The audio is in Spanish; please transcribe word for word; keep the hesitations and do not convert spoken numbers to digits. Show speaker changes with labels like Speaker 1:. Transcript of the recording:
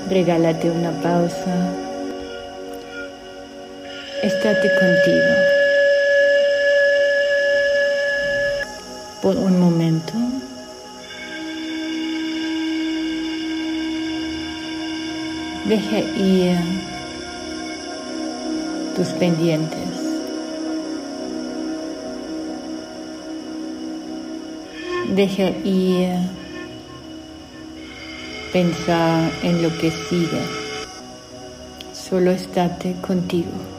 Speaker 1: Regálate una pausa. Estate contigo por un momento. Deja ir tus pendientes. Deja ir pensar en lo que sigue. Solo estate contigo.